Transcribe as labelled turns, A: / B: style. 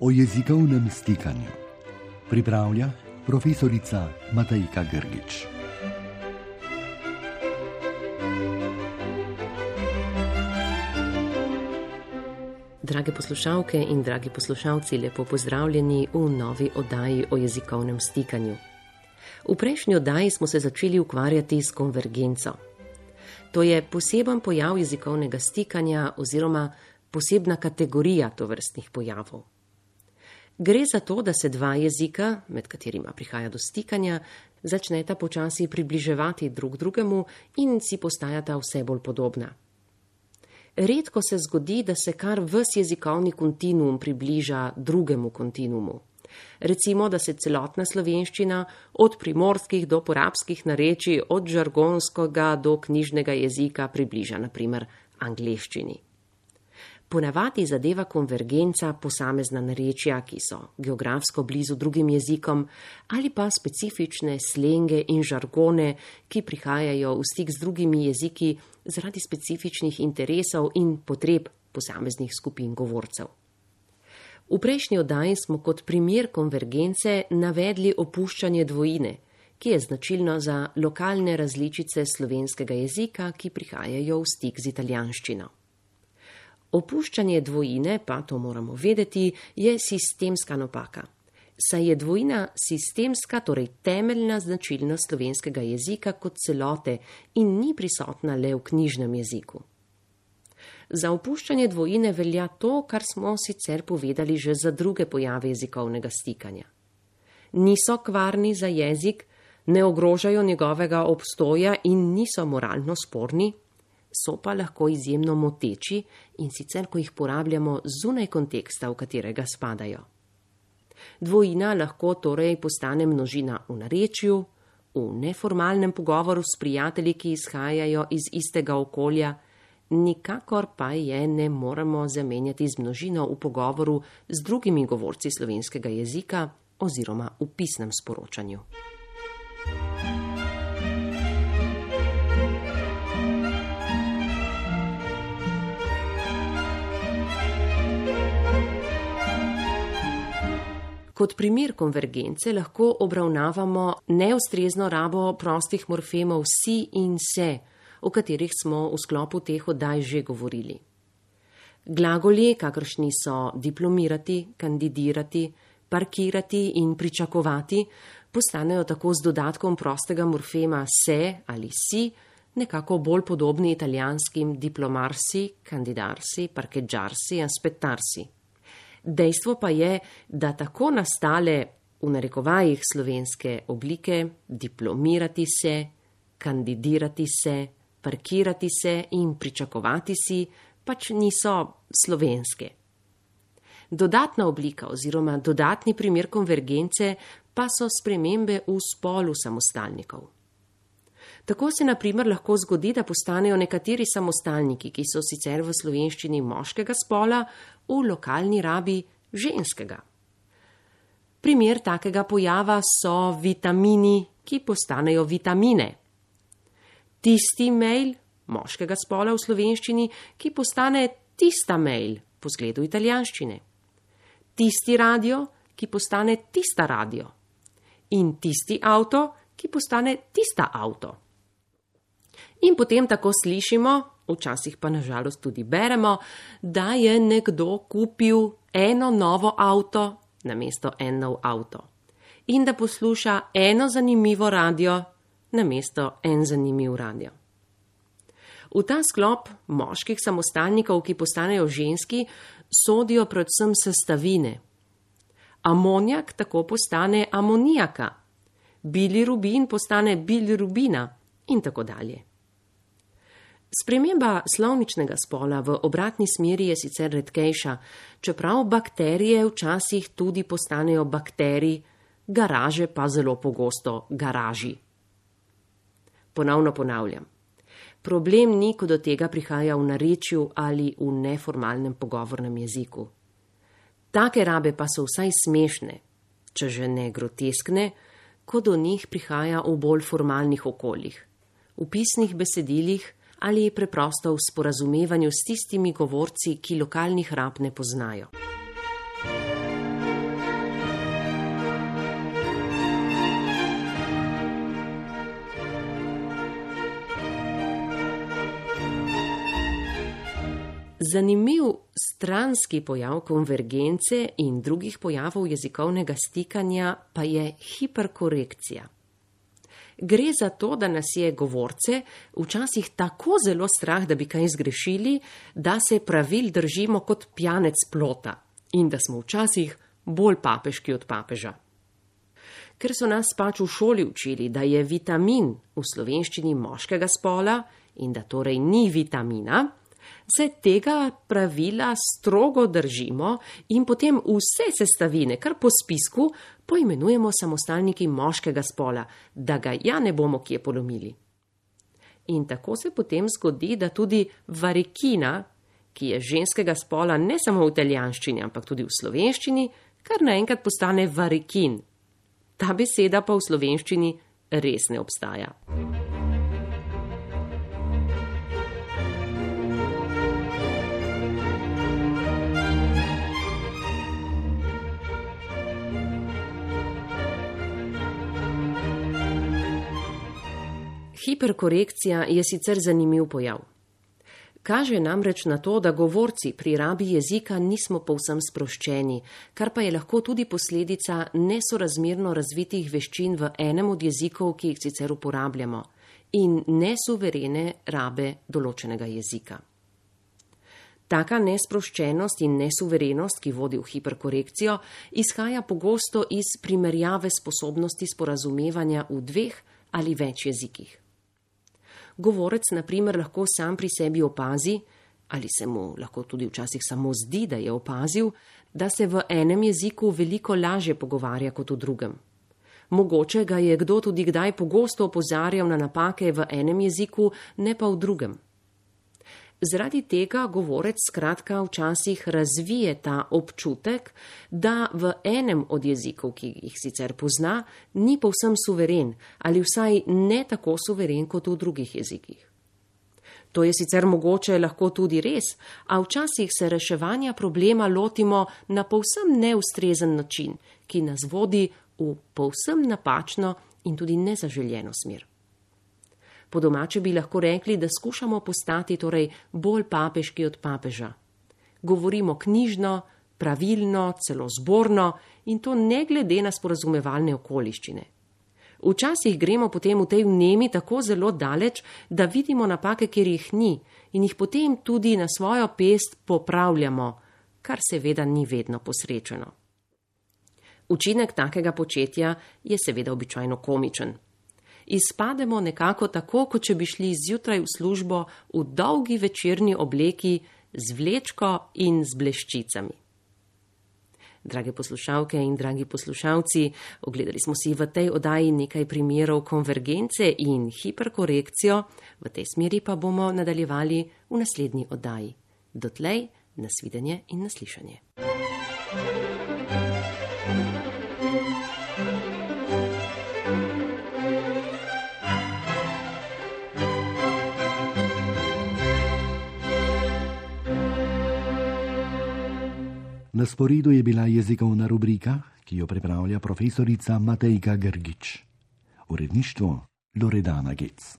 A: o jezikovnem stikanju. Pripravlja profesorica Matejka Grgič.
B: Drage poslušalke in dragi poslušalci, lepo pozdravljeni v novi oddaji o jezikovnem stikanju. V prejšnji oddaji smo se začeli ukvarjati s konvergenco. To je poseben pojav jezikovnega stikanja oziroma posebna kategorija tovrstnih pojavov. Gre za to, da se dva jezika, med katerima prihaja do stikanja, začneta počasi približevati drug drugemu in si postajata vse bolj podobna. Redko se zgodi, da se kar ves jezikovni kontinuum približa drugemu kontinuumu. Recimo, da se celotna slovenščina od primorskih do porabskih narečij, od žargonskega do knjižnega jezika približa, na primer, angleščini. Ponavadi zadeva konvergenca posamezna narečja, ki so geografsko blizu drugim jezikom, ali pa specifične slenge in žargone, ki prihajajo v stik z drugimi jeziki zaradi specifičnih interesov in potreb posameznih skupin govorcev. V prejšnji oddaji smo kot primer konvergence navedli opuščanje dvojine, ki je značilno za lokalne različice slovenskega jezika, ki prihajajo v stik z italijanščino. Opuščanje dvojine, pa to moramo vedeti, je sistemska napaka. Saj je dvojina sistemska, torej temeljna značilnost slovenskega jezika kot celote in ni prisotna le v knjižnem jeziku. Za opuščanje dvojine velja to, kar smo sicer povedali že za druge pojave jezikovnega stikanja. Niso kvarni za jezik, ne ogrožajo njegovega obstoja in niso moralno sporni, so pa lahko izjemno moteči in sicer, ko jih porabljamo zunaj konteksta, v katerega spadajo. Dvojina lahko torej postane množina v narečju, v neformalnem pogovoru s prijatelji, ki izhajajo iz istega okolja, nikakor pa je ne moremo zamenjati z množino v pogovoru z drugimi govorci slovenskega jezika oziroma v pisnem sporočanju. Kot primer konvergence lahko obravnavamo neustrezno rabo prostih morfemov si in se, o katerih smo v sklopu teh oddaj že govorili. Glagoli, kakršni so diplomirati, kandidirati, parkirati in pričakovati, postanejo tako z dodatkom prostega morfema se ali si nekako bolj podobni italijanskim diplomarsi, kandidarsi, parcheggiarsi, aspettarsi. Dejstvo pa je, da tako nastale v narekovajih slovenske oblike diplomirati se, kandidirati se, parkirati se in pričakovati si pač niso slovenske. Dodatna oblika oziroma dodatni primer konvergence pa so spremembe v spolu samostalnikov. Tako se na primer lahko zgodi, da postanejo nekateri samostalniki, ki so sicer v slovenščini moškega spola, v lokalni rabi ženskega. Primer takega pojava so vitamini, ki postanejo vitamine. Tisti mail moškega spola v slovenščini, ki postane tista mail po zgledu italijanščine. Tisti radio, ki postane tista radio. In tisti avto, ki postane tista avto. In potem tako slišimo, včasih pa nažalost tudi beremo, da je nekdo kupil eno novo avto namesto en nov avto. In da posluša eno zanimivo radio namesto en zanimiv radio. V ta sklop moških samostalnikov, ki postanejo ženski, sodijo predvsem sestavine. Amonijak tako postane amonijaka, bilirubin postane bilirubina in tako dalje. Sprememba slovničnega spola v obratni smeri je sicer redkejša, čeprav bakterije včasih tudi postanejo bakteriji, garaže pa zelo pogosto garaži. Ponovno ponavljam. Problem ni, ko do tega prihaja v narečju ali v neformalnem pogovornem jeziku. Take rabe pa so vsaj smešne, če že ne groteskne, ko do njih prihaja v bolj formalnih okoljih, v pisnih besedilih ali preprosto v sporazumevanju s tistimi govorci, ki lokalnih rab ne poznajo. Zanimiv stranski pojav konvergence in drugih pojavov jezikovnega stikanja pa je hiperkorekcija. Gre za to, da nas je govorce včasih tako zelo strah, da bi kaj zgrešili, da se pravil držimo kot pijanec plota in da smo včasih bolj papeški od papeža. Ker so nas pač v šoli učili, da je vitamin v slovenščini moškega spola in da torej ni vitamina, se tega pravila strogo držimo in potem vse sestavine, kar po spisku, poimenujemo samostalniki moškega spola, da ga ja ne bomo kje polomili. In tako se potem zgodi, da tudi varikina, ki je ženskega spola ne samo v italijanščini, ampak tudi v slovenščini, kar naenkrat postane varikin. Ta beseda pa v slovenščini res ne obstaja. Hiperkorekcija je sicer zanimiv pojav. Kaže namreč na to, da govorci pri rabi jezika nismo povsem sproščeni, kar pa je lahko tudi posledica nesorazmerno razvitih veščin v enem od jezikov, ki jih sicer uporabljamo, in nesuverene rabe določenega jezika. Taka nesproščenost in nesuverenost, ki vodi v hiperkorekcijo, izhaja pogosto iz primerjave sposobnosti sporazumevanja v 2 ali več jezikih. Govorec, na primer, lahko sam pri sebi opazi, ali se mu lahko tudi včasih samo zdi, da je opazil, da se v enem jeziku veliko lažje pogovarja kot v drugem. Mogoče ga je kdo tudi kdaj pogosto opozarjal na napake v enem jeziku, ne pa v drugem. Zaradi tega govorec skratka včasih razvije ta občutek, da v enem od jezikov, ki jih sicer pozna, ni povsem suveren ali vsaj ne tako suveren kot v drugih jezikih. To je sicer mogoče lahko tudi res, a včasih se reševanja problema lotimo na povsem neustrezen način, ki nas vodi v povsem napačno in tudi nezaželjeno smer. Po domače bi lahko rekli, da skušamo postati torej bolj papeški od papeža. Govorimo knjižno, pravilno, celo zborno in to ne glede na sporazumevalne okoliščine. Včasih gremo potem v tej vnemi tako zelo daleč, da vidimo napake, kjer jih ni in jih potem tudi na svojo pest popravljamo, kar seveda ni vedno posrečeno. Učinek takega početja je seveda običajno komičen. Izpademo nekako tako, kot če bi šli zjutraj v službo v dolgi večerni obleki z vlečko in z bleščicami. Drage poslušalke in dragi poslušalci, ogledali smo si v tej oddaji nekaj primerov konvergence in hiperkorekcijo, v tej smeri pa bomo nadaljevali v naslednji oddaji. Dotlej, nasvidenje in naslišanje.
A: Na sporedu je bila jezikovna rubrika, ki jo pripravlja profesorica Matejka Grgič. Uredništvo Loredana Gec.